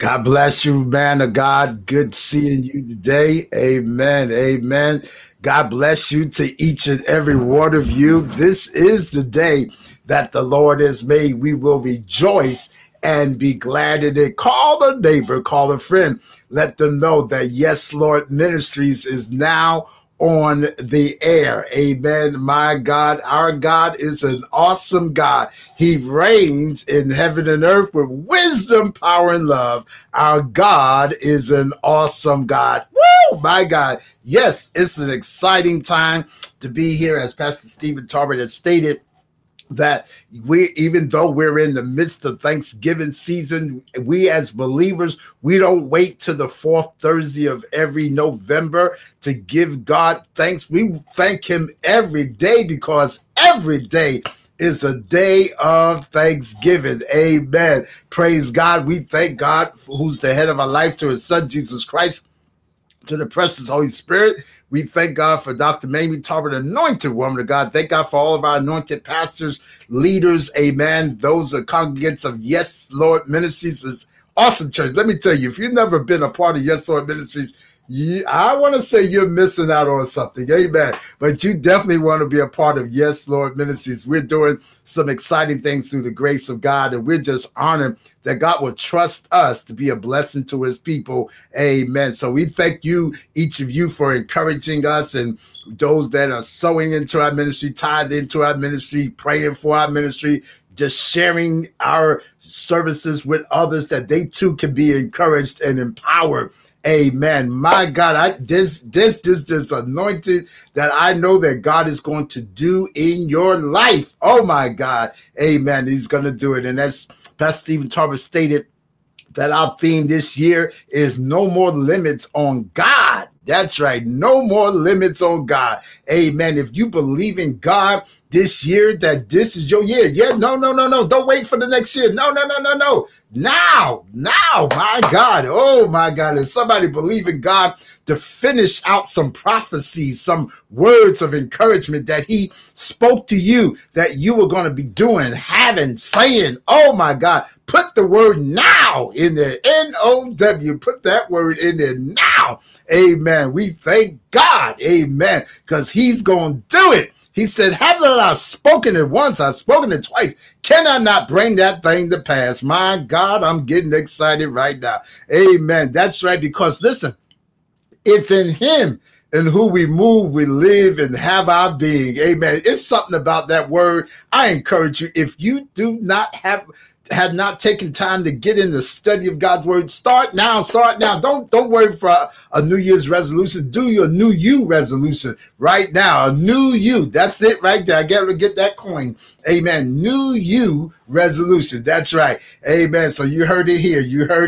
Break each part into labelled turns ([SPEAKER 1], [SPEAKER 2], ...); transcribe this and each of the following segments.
[SPEAKER 1] God bless you, man of God. Good seeing you today. Amen. Amen. God bless you to each and every one of you. This is the day that the Lord has made. We will rejoice and be glad in it. Call a neighbor, call a friend. Let them know that Yes, Lord Ministries is now on the air. Amen. My God, our God is an awesome God. He reigns in heaven and earth with wisdom, power, and love. Our God is an awesome God. Woo! My God. Yes, it's an exciting time to be here, as Pastor Stephen Tarbert has stated that we, even though we're in the midst of Thanksgiving season, we as believers, we don't wait to the fourth Thursday of every November to give God thanks. We thank him every day, because every day is a day of thanksgiving. Amen. Praise God. We thank God, who's the head of our life, to his son Jesus Christ, to the precious Holy Spirit. We thank God for Dr. Mamie Tarbert, anointed woman of God. Thank God for all of our anointed pastors, leaders, amen. Those are congregants of Yes, Lord Ministries. Is awesome church. Let me tell you, if you've never been a part of Yes, Lord Ministries, I want to say you're missing out on something, amen. But you definitely want to be a part of Yes, Lord Ministries. We're doing some exciting things through the grace of God, and we're just honored that God will trust us to be a blessing to his people. Amen. So we thank you, each of you, for encouraging us, and those that are sowing into our ministry, tithe into our ministry, praying for our ministry, just sharing our services with others, that they too can be encouraged and empowered. Amen. My God, this anointed that I know that God is going to do in your life. Oh my God. Amen. He's going to do it. And as Pastor Stephen Tarbert stated, that our theme this year is no more limits on God. That's right. No more limits on God. Amen. If you believe in God this year, that this is your year. Yeah, no. Don't wait for the next year. No. Now, my God. Oh, my God. If somebody believe in God to finish out some prophecies, some words of encouragement that he spoke to you, that you were going to be doing, having, saying, oh, my God, put the word now in there. N-O-W. Put that word in there now. Amen. We thank God. Amen. Because he's going to do it. He said, haven't I spoken it once? I've spoken it twice. Can I not bring that thing to pass? My God, I'm getting excited right now. Amen. That's right. Because listen, it's in him in who we move, we live, and have our being. Amen. It's something about that word. I encourage you, if you do not have not taken time to get in the study of God's word, start now. Don't wait for a New Year's resolution. Do your new you resolution right now. A new you. That's it right there. I got to get that coin. Amen. New you resolution. That's right. Amen. So you heard it here.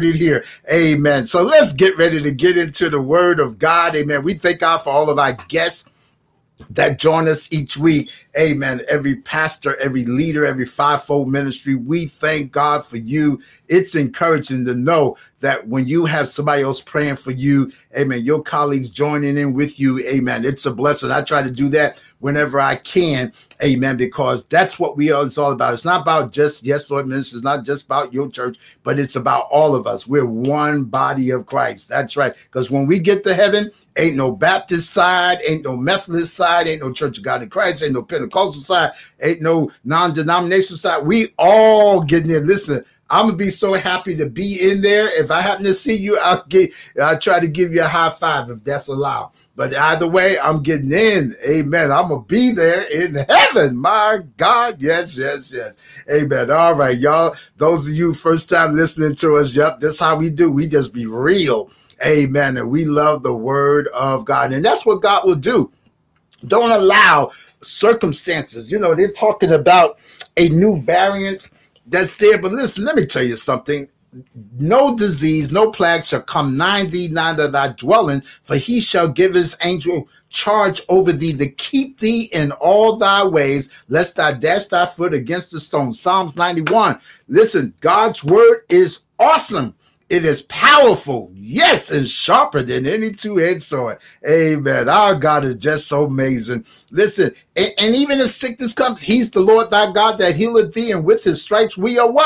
[SPEAKER 1] Amen. So let's get ready to get into the word of God. Amen. We thank God for all of our guests that join us each week. Amen. Every pastor, every leader, every fivefold ministry, we thank God for you. It's encouraging to know that when you have somebody else praying for you, amen, your colleagues joining in with you, amen, it's a blessing. I try to do that whenever I can, amen, because that's what it's all about. It's not about just Yes Lord Ministry. It's not just about your church, but it's about all of us. We're one body of Christ. That's right. Because when we get to heaven, ain't no Baptist side, ain't no Methodist side, ain't no Church of God in Christ, ain't no Pentecostal side, ain't no non-denominational side. We all getting in. Listen, I'm gonna be so happy to be in there. If I happen to see you, I'll try to give you a high five if that's allowed. But either way, I'm getting in. Amen. I'm gonna be there in heaven. My God, yes. Amen. All right, y'all. Those of you first time listening to us, yep, that's how we do. We just be real. Amen. And we love the word of God. And that's what God will do. Don't allow circumstances. They're talking about a new variant that's there. But listen, let me tell you something. No disease, no plague shall come nigh thee, neither thy dwelling, for he shall give his angel charge over thee to keep thee in all thy ways, lest thou dash thy foot against the stone. Psalms 91. Listen, God's word is awesome. It is powerful, yes, and sharper than any two-edged sword. Amen. Our God is just so amazing. Listen, and even if sickness comes, he's the Lord thy God that healeth thee, and with his stripes we are what?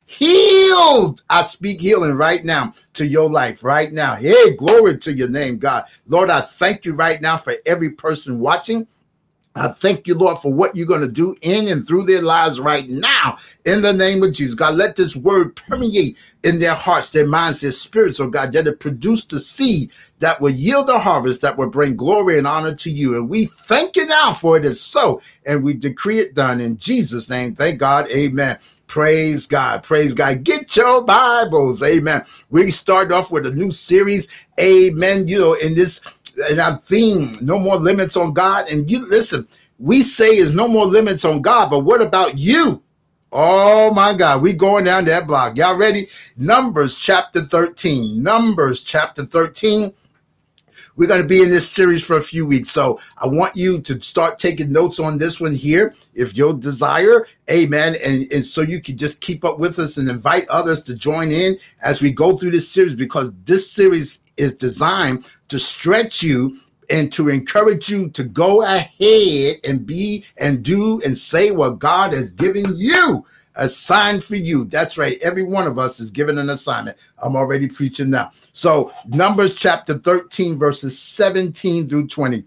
[SPEAKER 1] healed. I speak healing right now to your life right now. Hey, glory to your name, God. Lord, I thank you right now for every person watching. I thank you, Lord, for what you're going to do in and through their lives right now. In the name of Jesus, God, let this word permeate in their hearts, their minds, their spirits, oh God, that it produce the seed that will yield a harvest that will bring glory and honor to you. And we thank you now for it is so. And we decree it done in Jesus' name. Thank God. Amen. Praise God. Praise God. Get your Bibles. Amen. We start off with a new series. Amen. You know, in our theme, no more limits on God. And you listen, we say is no more limits on God, but what about you? Oh my God, we going down that block. Y'all ready? Numbers chapter 13. Numbers chapter 13. We're going to be in this series for a few weeks. So I want you to start taking notes on this one here if you desire. Amen. And so you can just keep up with us and invite others to join in as we go through this series, because this series is designed to stretch you and to encourage you to go ahead and be and do and say what God has given you. Assigned for you. That's right. Every one of us is given an assignment. I'm already preaching now. So Numbers chapter 13, verses 17 through 20.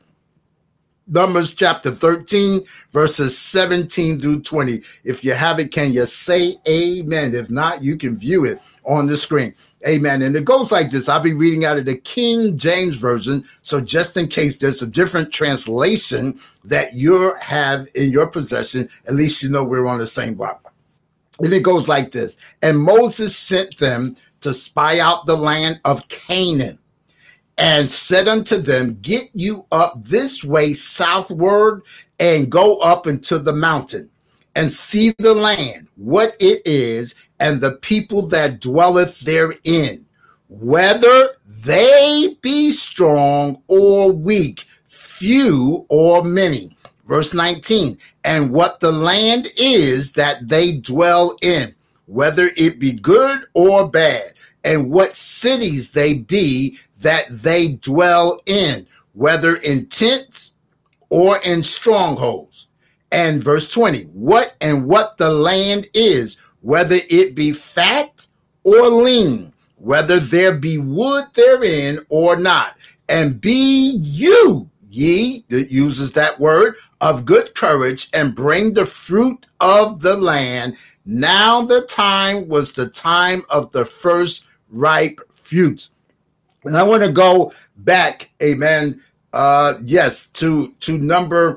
[SPEAKER 1] Numbers chapter 13, verses 17 through 20. If you have it, can you say amen? If not, you can view it on the screen. Amen. And it goes like this. I'll be reading out of the King James Version. So just in case there's a different translation that you have in your possession, at least you know we're on the same block. And it goes like this. And Moses sent them to spy out the land of Canaan, and said unto them, get you up this way southward, and go up into the mountain, and see the land, what it is, and the people that dwelleth therein, whether they be strong or weak, few or many. Verse 19, and what the land is that they dwell in, whether it be good or bad, and what cities they be that they dwell in, whether in tents or in strongholds. And verse 20, what the land is, whether it be fat or lean, whether there be wood therein or not. And be you, ye, that uses that word, of good courage, and bring the fruit of the land. Now the time was the time of the first ripe fruits. And I want to go back, amen, to number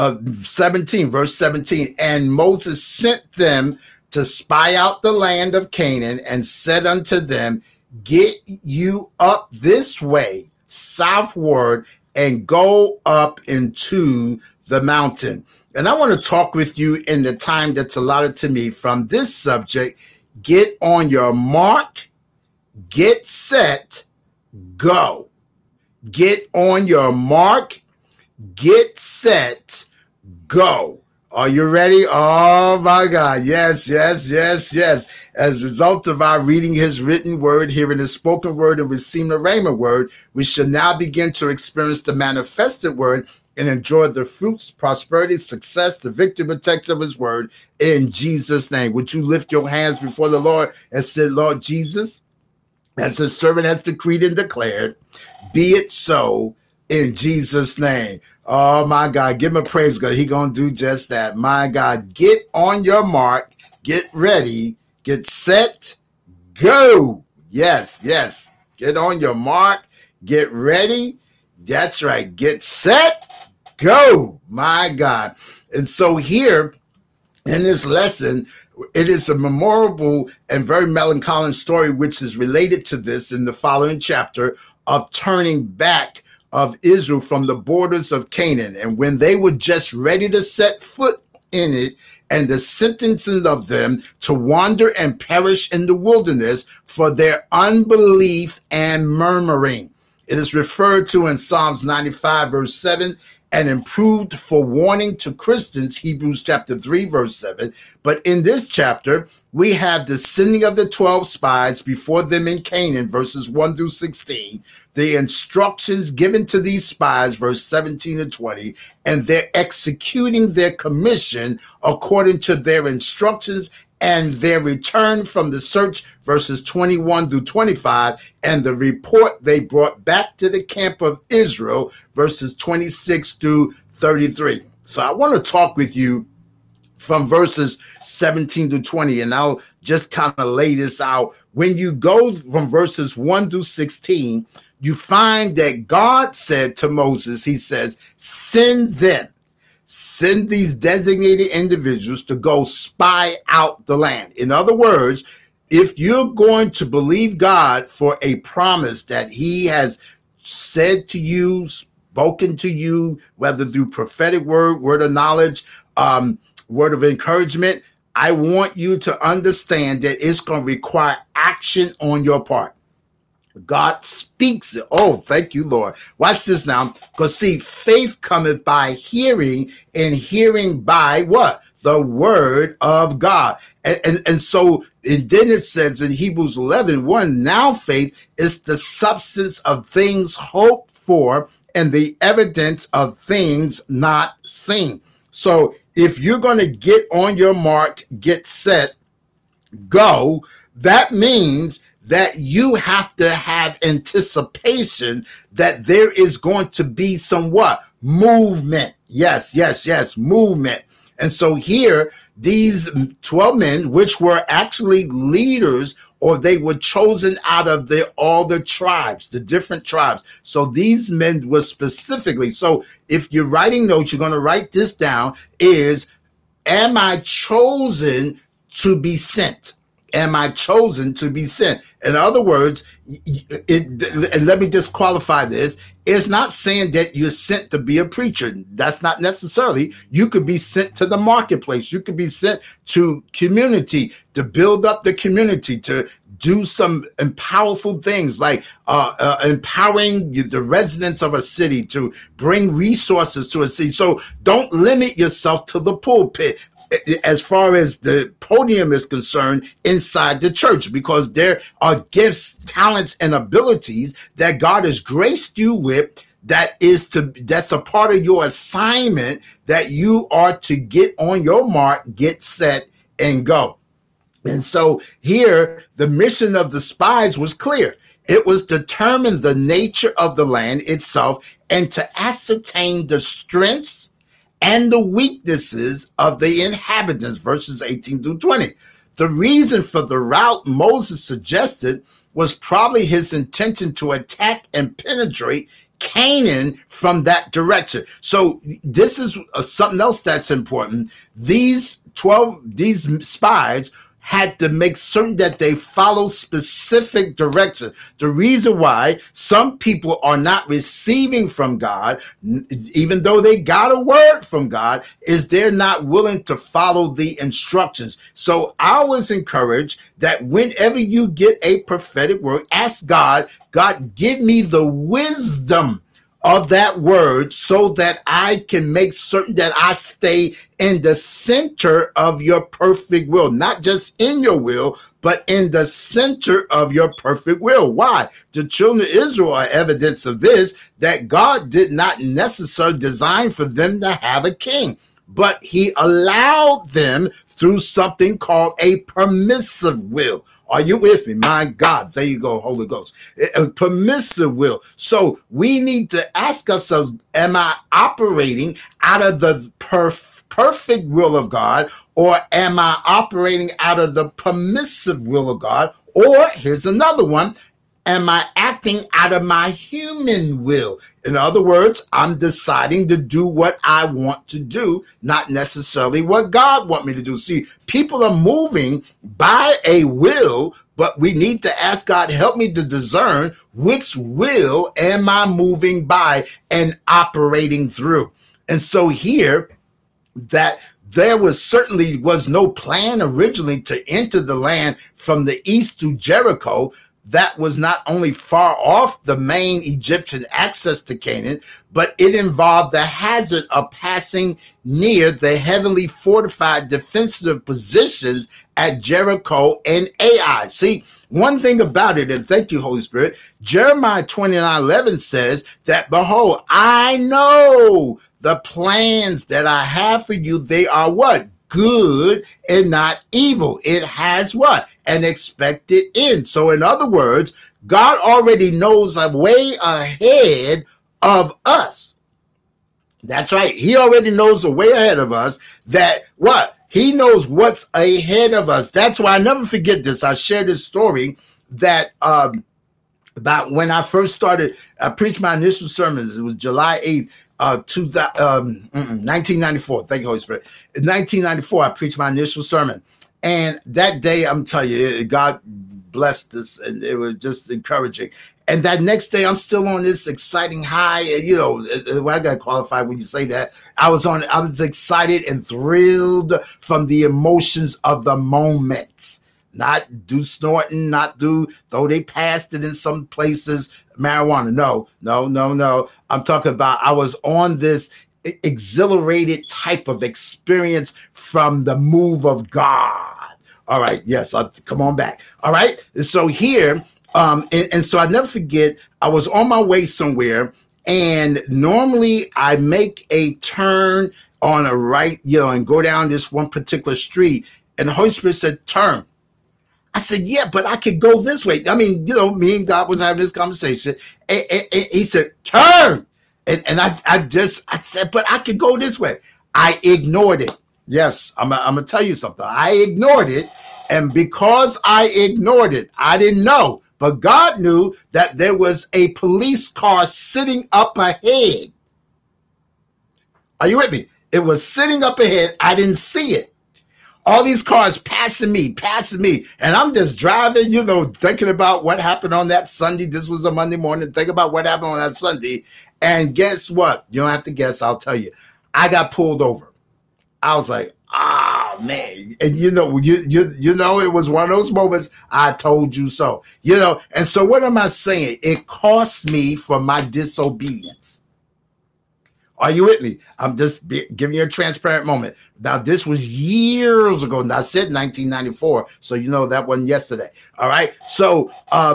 [SPEAKER 1] 17, verse 17. And Moses sent them to spy out the land of Canaan, and said unto them, get you up this way southward, and go up into the mountain. And I want to talk with you in the time that's allotted to me from this subject. Get on your mark, get set, go. Get on your mark, get set, go. Are you ready? Oh my God. Yes, yes, yes, yes. As a result of our reading his written word, hearing his spoken word, and receiving the rhema word, we shall now begin to experience the manifested word and enjoy the fruits, prosperity, success, the victory, protection of his word in Jesus' name. Would you lift your hands before the Lord and say, Lord Jesus, as the servant has decreed and declared, be it so in Jesus' name. Oh my God, give him a praise, God. He gonna do just that. My God, get on your mark, get ready, get set, go. Yes, yes. Get on your mark, get ready. That's right. Get set, go. My God. And so here in this lesson, it is a memorable and very melancholy story, which is related to this in the following chapter, of turning back of Israel from the borders of Canaan. And when they were just ready to set foot in it, and the sentencing of them to wander and perish in the wilderness for their unbelief and murmuring. It is referred to in Psalms 95, verse 7, and improved for warning to Christians, Hebrews chapter 3, verse 7. But in this chapter, we have the sending of the 12 spies before them in Canaan, verses 1 through 16, the instructions given to these spies, verse 17 and 20, and they're executing their commission according to their instructions and their return from the search, verses 21 through 25, and the report they brought back to the camp of Israel, verses 26 through 33. So I want to talk with you from verses 17 to 20, and I'll just kind of lay this out. When you go from verses 1 through 16, you find that God said to Moses, he says, send these designated individuals to go spy out the land. In other words, if you're going to believe God for a promise that he has said to you, spoken to you, whether through prophetic word of knowledge, word of encouragement, I want you to understand that it's going to require action on your part. God speaks it. Oh, thank you, Lord. Watch this now. Because see, faith cometh by hearing, and hearing by what? The word of God. And so, and then it says in Hebrews 11:1, now faith is the substance of things hoped for and the evidence of things not seen. So if you're going to get on your mark, get set, go, that means that you have to have anticipation that there is going to be some what? Movement. Yes, movement. And so here, these 12 men, which were actually leaders, or they were chosen out of all the tribes, the different tribes. So these men were specifically, so if you're writing notes, you're going to write this down, is, am I chosen to be sent? Am I chosen to be sent? In other words, and let me just qualify this. It's not saying that you're sent to be a preacher. That's not necessarily. You could be sent to the marketplace. You could be sent to community, to build up the community, to do some powerful things like empowering the residents of a city, to bring resources to a city. So don't limit yourself to the pulpit as far as the podium is concerned inside the church, because there are gifts, talents, and abilities that God has graced you with that's a part of your assignment that you are to get on your mark, get set, and go. And so here, the mission of the spies was clear. It was to determine the nature of the land itself and to ascertain the strengths and the weaknesses of the inhabitants, verses 18 through 20. The reason for the route Moses suggested was probably his intention to attack and penetrate Canaan from that direction. So this is something else that's important. These spies had to make certain that they follow specific direction. The reason why some people are not receiving from God, even though they got a word from God, is they're not willing to follow the instructions. So I always encourage that whenever you get a prophetic word, ask God, give me the wisdom of that word so that I can make certain that I stay in the center of your perfect will, not just in your will, but in the center of your perfect will. Why? The children of Israel are evidence of this, that God did not necessarily design for them to have a king, but he allowed them through something called a permissive will. Are you with me? My God, there you go, Holy Ghost. A permissive will. So we need to ask ourselves, am I operating out of the perfect will of God, or am I operating out of the permissive will of God? Or here's another one. Am I acting out of my human will? In other words, I'm deciding to do what I want to do, not necessarily what God wants me to do. See, people are moving by a will, but we need to ask God, help me to discern which will am I moving by and operating through. And so here, that there certainly was no plan originally to enter the land from the east through Jericho. That was not only far off the main Egyptian access to Canaan, but it involved the hazard of passing near the heavily fortified defensive positions at Jericho and Ai. See, one thing about it, and thank you, Holy Spirit, Jeremiah 29:11 says that, behold, I know the plans that I have for you. They are what? good and not evil. It has what? An expected end. So in other words, God already knows a way ahead of us. That's right. He already knows the way ahead of us that what? He knows what's ahead of us. That's why I never forget this. I shared this story that about when I first started, I preached my initial sermons. It was July 8th, 1994. Thank you, Holy Spirit. In 1994, I preached my initial sermon. And that day, I'm telling you, God blessed us, and it was just encouraging. And that next day, I'm still on this exciting high. You know, I got to qualify when you say that. I was excited and thrilled from the emotions of the moment. Not do snorting, not do, though they passed it in some places, marijuana. No. I'm talking about I was on this exhilarated type of experience from the move of God. All right, yes, come on back. All right, so here, and so I never forget, I was on my way somewhere, and normally I make a turn on a right, and go down this one particular street, and the Holy Spirit said, turn. I said, yeah, but I could go this way. I mean, me and God was having this conversation. And he said, turn. And I said, but I could go this way. I ignored it. Yes, I'm going to tell you something. I ignored it. And because I ignored it, I didn't know. But God knew that there was a police car sitting up ahead. Are you with me? It was sitting up ahead. I didn't see it. All these cars passing me. And I'm just driving, thinking about what happened on that Sunday. This was a Monday morning. Think about what happened on that Sunday. And guess what? You don't have to guess. I'll tell you. I got pulled over. I was like, man. And you know, it was one of those moments, I told you so. And so what am I saying? It cost me for my disobedience. Are you with me? I'm just giving you a transparent moment. Now, this was years ago. Now, I said 1994, so that wasn't yesterday. All right. So,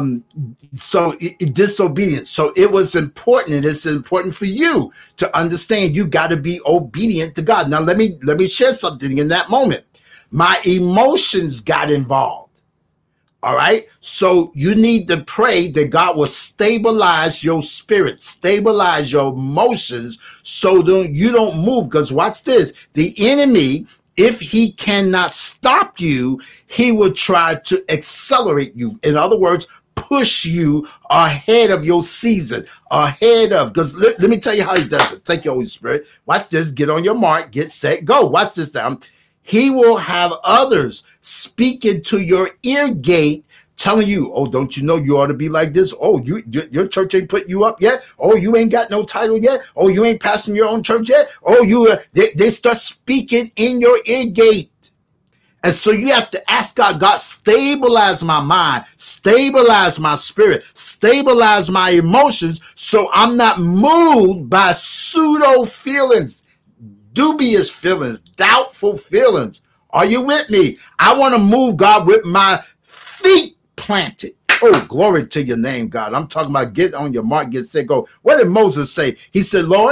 [SPEAKER 1] disobedience. So it was important, and it's important for you to understand. You got to be obedient to God. Now, let me share something in that moment. My emotions got involved. All right. So you need to pray that God will stabilize your spirit, stabilize your emotions so that you don't move. Because watch this. The enemy, if he cannot stop you, he will try to accelerate you. In other words, push you ahead of your season, because let me tell you how he does it. Thank you, Holy Spirit. Watch this. Get on your mark, get set, go. Watch this now. He will have others speaking to your ear gate, telling you, oh, don't you know you ought to be like this? Oh, your church ain't put you up yet? Oh, you ain't got no title yet? Oh, you ain't pastoring your own church yet? Oh, they start speaking in your ear gate. And so you have to ask God, stabilize my mind, stabilize my spirit, stabilize my emotions so I'm not moved by pseudo feelings, dubious feelings, doubtful feelings. Are you with me? I want to move, God, with my feet planted. Oh, glory to your name, God. I'm talking about get on your mark, get set, go. What did Moses say? He said, Lord,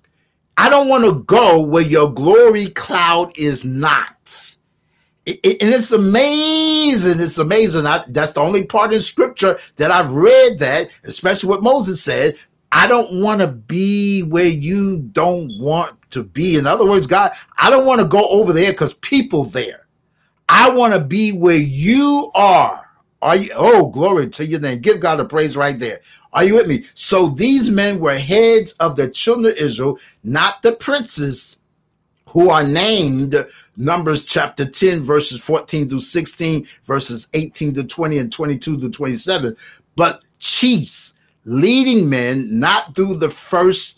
[SPEAKER 1] I don't want to go where your glory cloud is not. And it's amazing. It's amazing. That's the only part in scripture that I've read that, especially what Moses said. I don't want to be where you don't want to be. In other words, God, I don't want to go over there because people there. I want to be where you are. Are you? Oh, glory to your name. Give God a praise right there. Are you with me? So these men were heads of the children of Israel, not the princes who are named Numbers chapter 10, verses 14 through 16, verses 18 to 20 and 22 to 27, but chiefs, leading men, not of the first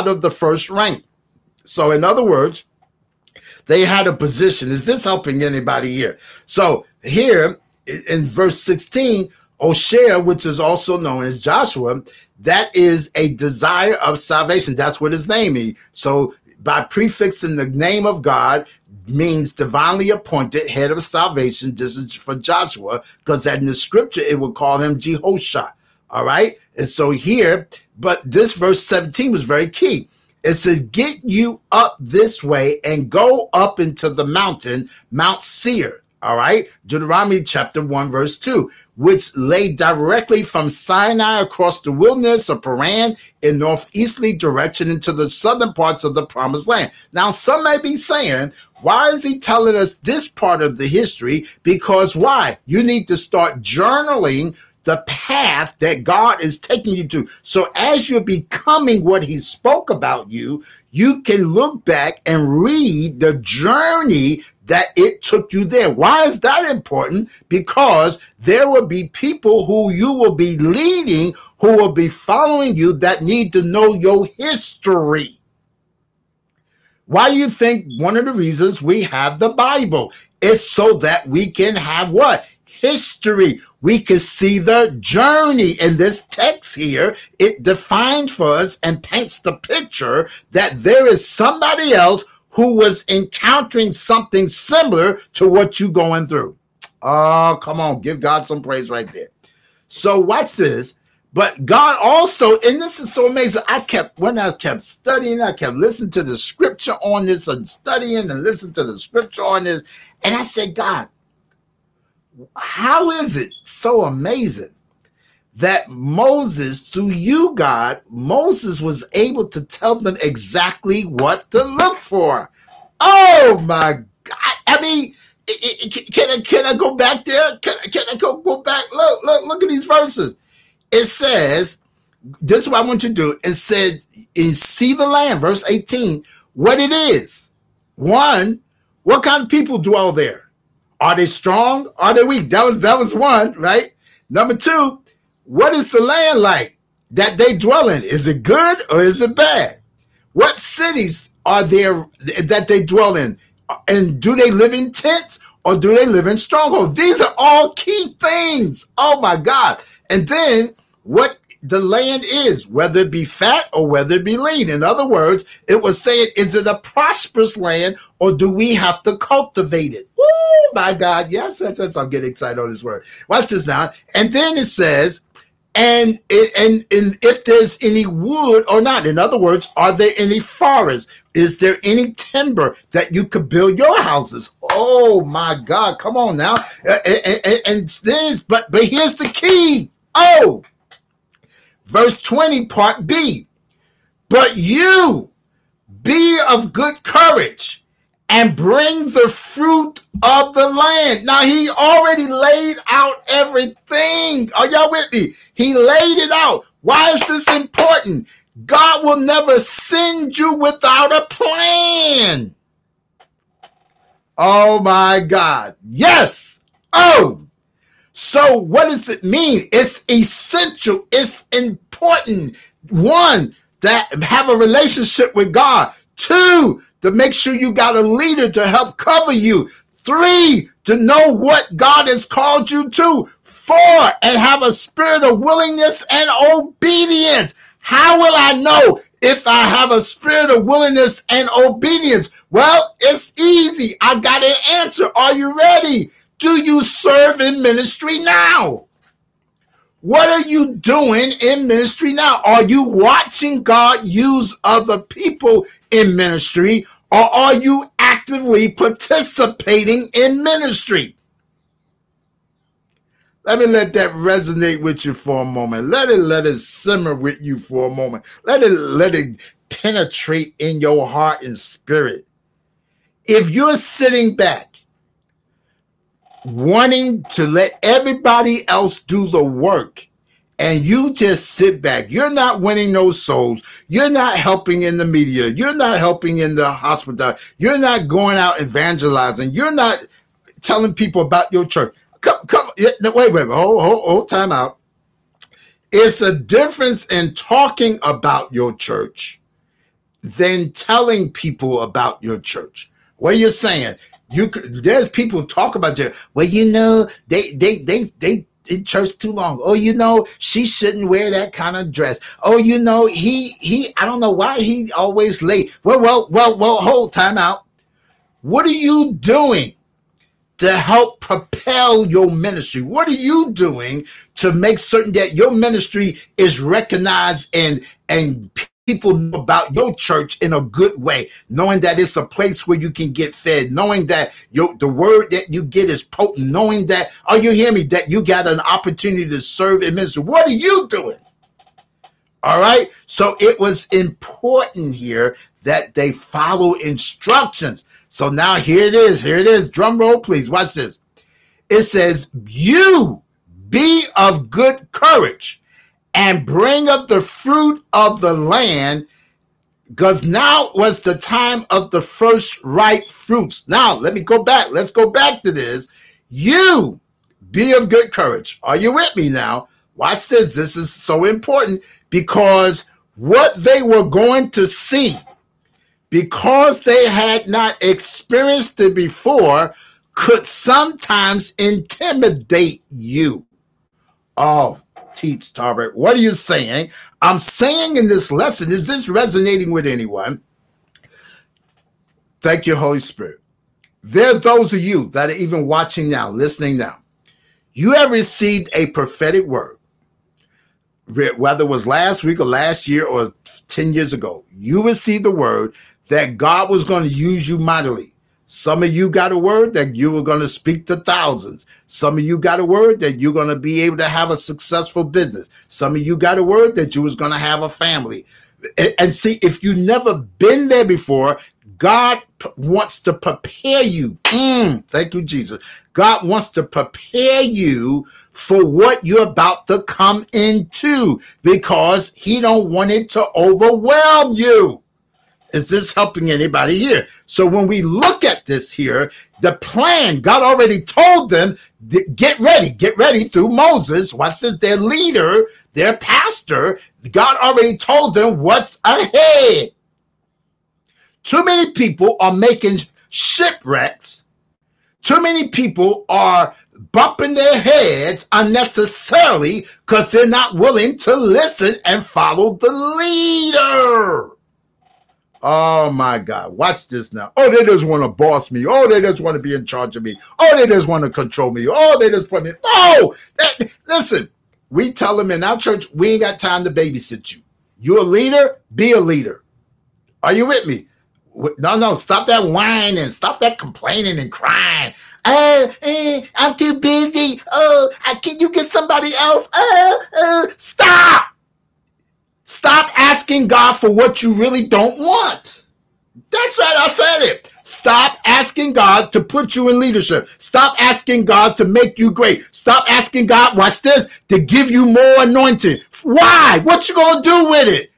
[SPEAKER 1] rank. So in other words, they had a position. Is this helping anybody here? So here in verse 16, Oshea, which is also known as Joshua, that is a desire of salvation. That's what his name is. So by prefixing the name of God means divinely appointed head of salvation. This is for Joshua, because in the scripture, it would call him Jehoshaphat. All right. And so here, but this verse 17 was very key. It says, get you up this way and go up into the mountain, Mount Seir. All right. Deuteronomy chapter 1, verse 2, which lay directly from Sinai across the wilderness of Paran in northeasterly direction into the southern parts of the promised land. Now, some may be saying, why is he telling us this part of the history? Because why? You need to start journaling the path that God is taking you to. So as you're becoming what he spoke about you, you can look back and read the journey that it took you there. Why is that important? Because there will be people who you will be leading, who will be following you, that need to know your history. Why do you think one of the reasons we have the Bible is so that we can have what? History. We can see the journey. In this text here, it defines for us and paints the picture that there is somebody else who was encountering something similar to what you're going through. Oh, come on. Give God some praise right there. So watch this. But God also, and this is so amazing, when I kept studying, I kept listening to the scripture on this and studying and listening to the scripture on this. And I said, God, how is it so amazing that Moses, through you, God, Moses was able to tell them exactly what to look for? Oh my God. I mean, can I go back there? Can I go back? Look at these verses. It says, this is what I want you to do. It said, in see the land, verse 18, what it is. One, what kind of people dwell there? Are they strong? Are they weak? That was one, right? Number two, what is the land like that they dwell in? Is it good or is it bad? What cities are there that they dwell in? And do they live in tents or do they live in strongholds? These are all key things. Oh my God. And then what the land is, whether it be fat or whether it be lean. In other words, it was saying, is it a prosperous land or do we have to cultivate it? Oh my God. Yes, I'm getting excited on this word. Watch this now. And then it says, and if there's any wood or not. In other words, are there any forests? Is there any timber that you could build your houses? Oh my God. Come on now. And this, but here's the key. Oh, verse 20, part B. But you be of good courage and bring the fruit of the land. Now, he already laid out everything. Are y'all with me? He laid it out. Why is this important? God will never send you without a plan. Oh, my God. Yes. Oh. So what does it mean? It's essential. It's important. One, to have a relationship with God. Two, to make sure you got a leader to help cover you. Three, to know what God has called you to. Four, and have a spirit of willingness and obedience. How will I know if I have a spirit of willingness and obedience? Well, it's easy. I got an answer. Are you ready? Do you serve in ministry now? What are you doing in ministry now? Are you watching God use other people in ministry, or are you actively participating in ministry? Let me let that resonate with you for a moment. Let it simmer with you for a moment. Let it penetrate in your heart and spirit. If you're sitting back wanting to let everybody else do the work and you just sit back, you're not winning those souls, you're not helping in the media, you're not helping in the hospital, you're not going out evangelizing, you're not telling people about your church. Come, wait, hold time out. It's a difference in talking about your church than telling people about your church. What are you saying? There's people talk about you. Well, they in church too long. Oh, she shouldn't wear that kind of dress. Oh, he I don't know why he always late. Well, hold time out. What are you doing to help propel your ministry? What are you doing to make certain that your ministry is recognized and people know about your church in a good way, knowing that it's a place where you can get fed, knowing that the word that you get is potent, knowing that, oh, you hear me, that you got an opportunity to serve in ministry. What are you doing? All right. So it was important here that they follow instructions. So now here it is. Here it is. Drum roll, please. Watch this. It says, you be of good courage and bring up the fruit of the land, because now was the time of the first ripe fruits. Now, let me go back. Let's go back to this. You be of good courage. Are you with me now? Watch this. This is so important, because what they were going to see, because they had not experienced it before, could sometimes intimidate you. Oh, Teach Tarbert, what are you saying? I'm saying in this lesson, is this resonating with anyone? Thank you, Holy Spirit. There are those of you that are even watching now, listening now. You have received a prophetic word, whether it was last week or last year or 10 years ago. You received the word that God was going to use you mightily. Some of you got a word that you were going to speak to thousands. Some of you got a word that you're going to be able to have a successful business. Some of you got a word that you was going to have a family. And see, if you've never been there before, God wants to prepare you. Thank you, Jesus. God wants to prepare you for what you're about to come into, because he don't want it to overwhelm you. Is this helping anybody here? So when we look at this here, the plan, God already told them, get ready through Moses. Watch this, their leader, their pastor. God already told them what's ahead. Too many people are making shipwrecks. Too many people are bumping their heads unnecessarily because they're not willing to listen and follow the leader. Oh my God, watch this now. Oh, they just want to boss me. Oh, they just want to be in charge of me. Oh, they just want to control me. Oh, they just put me. No, listen, we tell them in our church, we ain't got time to babysit you. You're a leader, be a leader. Are you with me? No, stop that whining. Stop that complaining and crying. I'm too busy. Oh, can you get somebody else? Stop. Stop asking God for what you really don't want. That's right, I said it. Stop asking God to put you in leadership. Stop asking God to make you great. Stop asking God, watch this, to give you more anointing. Why? What you gonna do with it?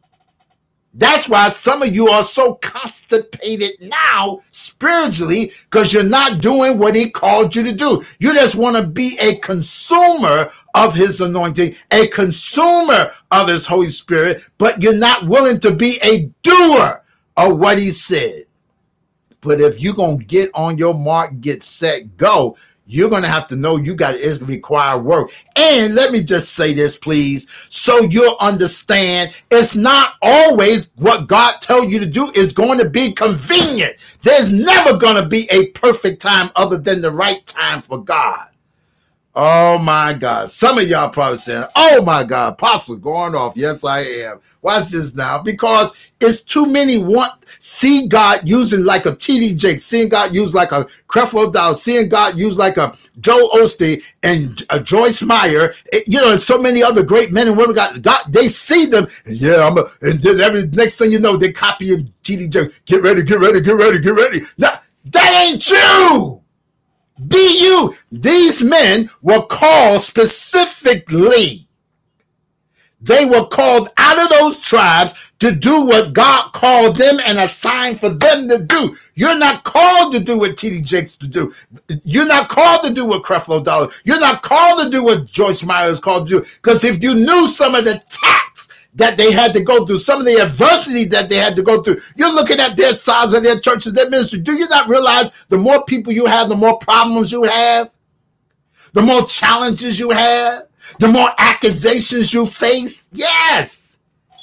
[SPEAKER 1] That's why some of you are so constipated now spiritually, because you're not doing what he called you to do. You just want to be a consumer of his anointing, a consumer of his Holy Spirit, but you're not willing to be a doer of what he said. But if you're going to get on your mark, get set, go, you're going to have to know it's required work. And let me just say this, please, so you'll understand, it's not always what God tells you to do is going to be convenient. There's never going to be a perfect time other than the right time for God. Oh my God. Some of y'all probably saying, oh my God, Apostle going off. Yes, I am. Watch this now, because it's too many see God using like a T.D. Jakes, seeing God use like a Creflo Dollar, seeing God use like a Joel Osteen and a Joyce Meyer, and so many other great men and women. God, they see them, and and then every next thing you know, they copy T.D. Jakes. Get ready. No, that ain't you. Be you. These men were called specifically. They were called out of those tribes to do what God called them and assigned for them to do. You're not called to do what T.D. Jakes to do. You're not called to do what Creflo Dollar. You're not called to do what Joyce Meyer is called to do. Because if you knew some of the tactics that they had to go through, some of the adversity that they had to go through, you're looking at their size of their churches, their ministry. Do you not realize the more people you have, the more problems you have, the more challenges you have, the more accusations you face? Yes.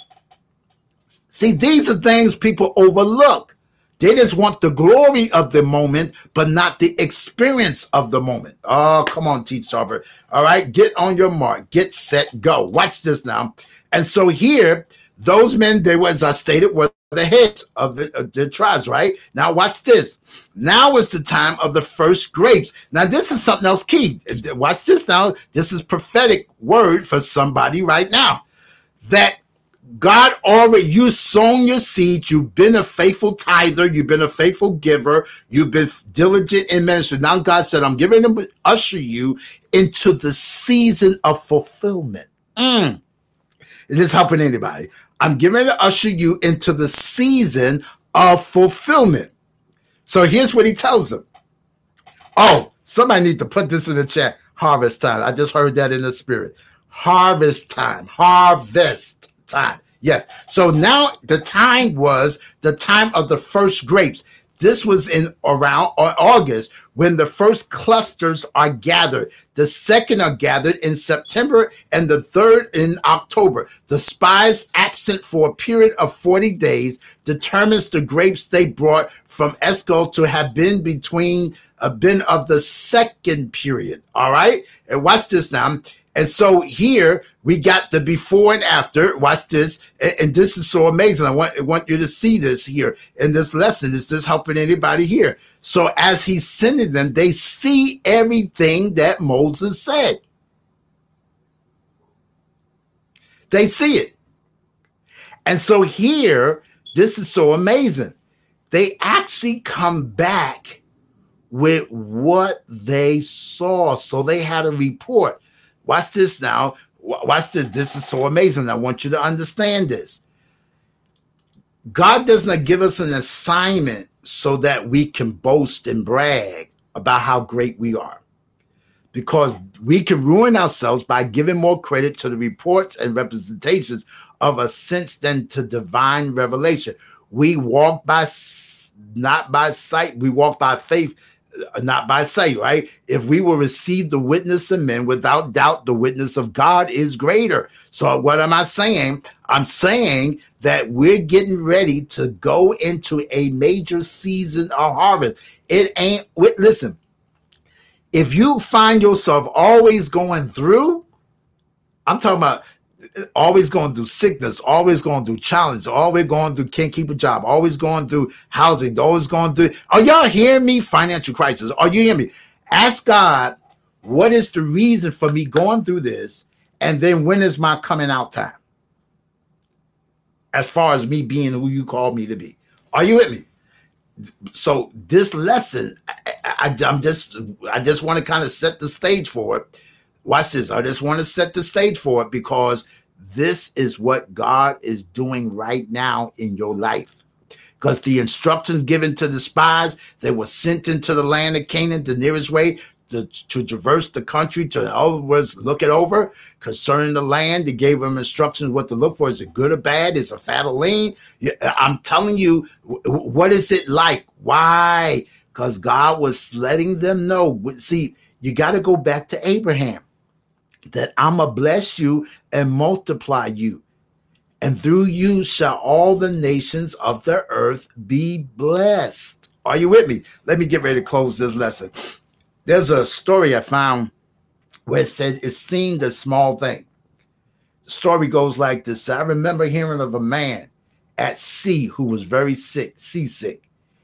[SPEAKER 1] See, these are things people overlook. They just want the glory of the moment, but not the experience of the moment. Oh, come on, Teach Tarbert. All right, get on your mark, get set, go. Watch this now. And so here, Those men, they were, as I stated, were the heads of the tribes, right? Now watch this. Now is the time of the first grapes. Now this is something else key. Watch this now. This is prophetic word for somebody right now. That God already, you sown your seeds. You've been a faithful tither. You've been a faithful giver. You've been diligent in ministry. Now God said, I'm giving them, usher you into the season of fulfillment. Is this helping anybody? I'm giving to usher you into the season of fulfillment. So here's what he tells them. Oh, somebody need to put this in the chat. Harvest time. I just heard that in the spirit. Harvest time. Harvest time. Yes. So now the time was the time of the first grapes. This was in around August when the first clusters are gathered. The second are gathered in September and the third in October. The spies absent for a period of 40 days determines the grapes they brought from Eshcol to have been between been of the second period. All right. And watch this now. And so here we got the before and after. Watch this. And this is so amazing. I want you to see this here in this lesson. Is this helping anybody here? So as he's sending them, they see everything that Moses said. They see it. And so here, this is so amazing. They actually come back with what they saw. So they had a report. Watch this now. Watch this. This is so amazing. I want you to understand this. God does not give us an assignment so that we can boast and brag about how great we are. Because we can ruin ourselves by giving more credit to the reports and representations of a sense than to divine revelation. We walk by, not by sight. We walk by faith, not by sight, right? If we will receive the witness of men, without doubt, the witness of God is greater. So what am I saying? I'm saying that we're getting ready to go into a major season of harvest. It ain't, listen, if you find yourself always going through, I'm talking about always going through sickness, always going through challenge, always going through can't keep a job, always going through housing, always going through, are y'all hearing me? Financial crisis. Are you hearing me? Ask God, what is the reason for me going through this? And then when is my coming out time? As far as me being who you called me to be. Are you with me? So this lesson, I just want to kind of set the stage for it. Watch this. I just want to set the stage for it because this is what God is doing right now in your life. Because the instructions given to the spies, they were sent into the land of Canaan the nearest way to traverse the country, to in other words, look it over. Concerning the land, they gave them instructions what to look for. Is it good or bad? Is it fat or lean? I'm telling you, what is it like? Why? Because God was letting them know. See, you got to go back to Abraham. That I'm going to bless you and multiply you. And through you shall all the nations of the earth be blessed. Are you with me? Let me get ready to close this lesson. There's a story I found where it said it seemed a small thing. The story goes like this. I remember hearing of a man at sea who was very sick, seasick.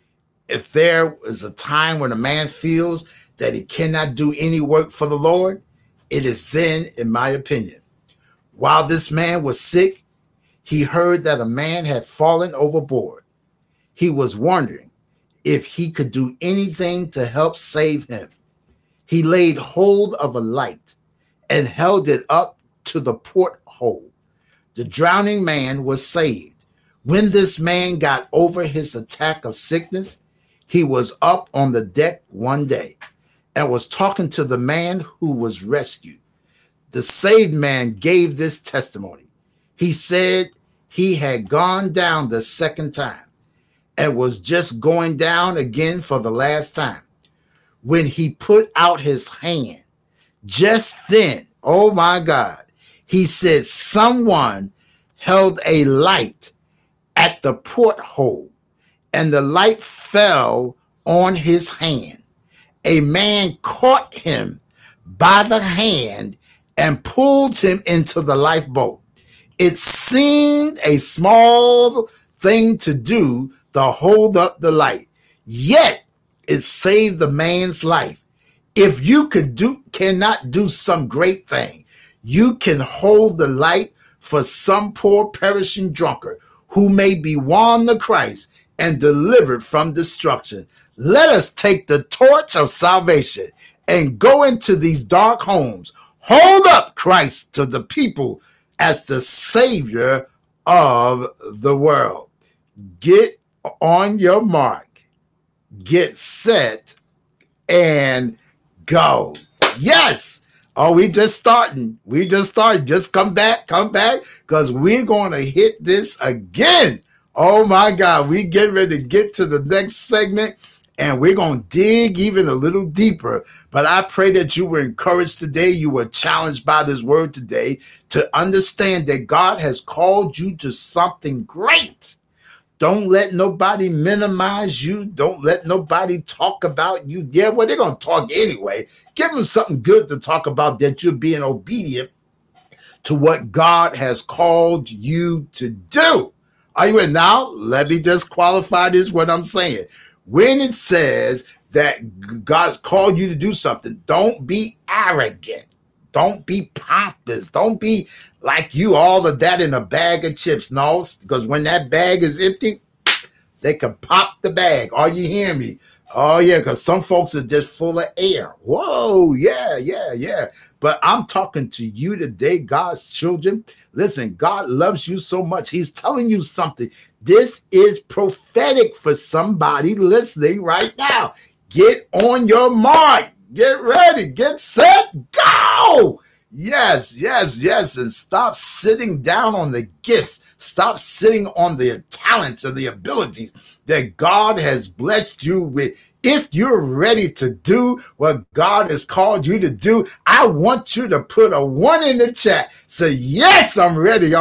[SPEAKER 1] If there is a time when a man feels that he cannot do any work for the Lord, it is then, in my opinion. While this man was sick, he heard that a man had fallen overboard. He was wondering if he could do anything to help save him. He laid hold of a light and held it up to the porthole. The drowning man was saved. When this man got over his attack of sickness, he was up on the deck one day and was talking to the man who was rescued. The saved man gave this testimony. He said he had gone down the second time and was just going down again for the last time. When he put out his hand, just then, oh my God, he said someone held a light at the porthole and the light fell on his hand. A man caught him by the hand and pulled him into the lifeboat. It seemed a small thing to do to hold up the light, yet it saved the man's life. If you cannot do some great thing, you can hold the light for some poor perishing drunkard who may be won to Christ and delivered from destruction. Let us take the torch of salvation and go into these dark homes. Hold up Christ to the people as the Savior of the world. Get on your mark, get set, and go. Yes. Oh, we just starting. We just started. Just come back, because we're going to hit this again. Oh my God. We get ready to get to the next segment and we're going to dig even a little deeper. But I pray that you were encouraged today. You were challenged by this word today to understand that God has called you to something great. Don't let nobody minimize you. Don't let nobody talk about you. Yeah, well, they're going to talk anyway. Give them something good to talk about, that you're being obedient to what God has called you to do. Are you in? Now, let me just qualify this, what I'm saying. When it says that God's called you to do something, don't be arrogant. Don't be pompous. Don't be like you all of that in a bag of chips. No, because when that bag is empty, they can pop the bag. Are you hearing me? Oh, yeah, because some folks are just full of air. Whoa, yeah. But I'm talking to you today, God's children. Listen, God loves you so much. He's telling you something. This is prophetic for somebody listening right now. Get on your mark. Get ready. Get set. Go. Yes. And stop sitting down on the gifts. Stop sitting on the talents and the abilities that God has blessed you with. If you're ready to do what God has called you to do, I want you to put a 1 in the chat. Say, yes, I'm ready.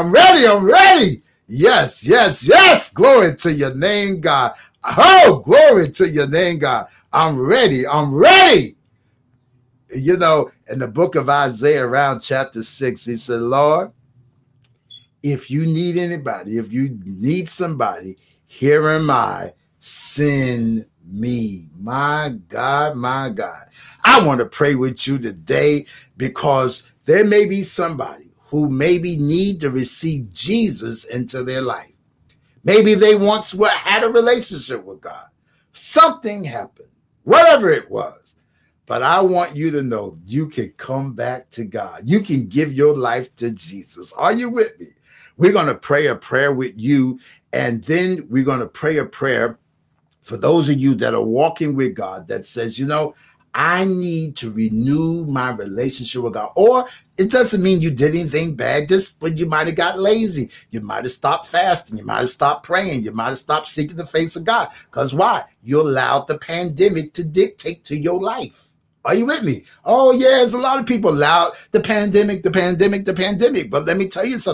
[SPEAKER 1] Yes. Glory to your name, God. Oh, glory to your name, God. I'm ready. You know, in the book of Isaiah, around chapter 6, he said, Lord, if you need anybody, if you need somebody, here am I, send me. My God. I want to pray with you today because there may be somebody who maybe need to receive Jesus into their life. Maybe they once had a relationship with God. Something happened, whatever it was. But I want you to know you can come back to God. You can give your life to Jesus. Are you with me? We're going to pray a prayer with you, and then we're going to pray a prayer for those of you that are walking with God that says, you know, I need to renew my relationship with God. Or it doesn't mean you did anything bad, just but you might have got lazy. You might have stopped fasting. You might have stopped praying. You might have stopped seeking the face of God. Because why? You allowed the pandemic to dictate to your life. Are you with me? Oh, yeah, there's a lot of people allowed the pandemic. But let me tell you something.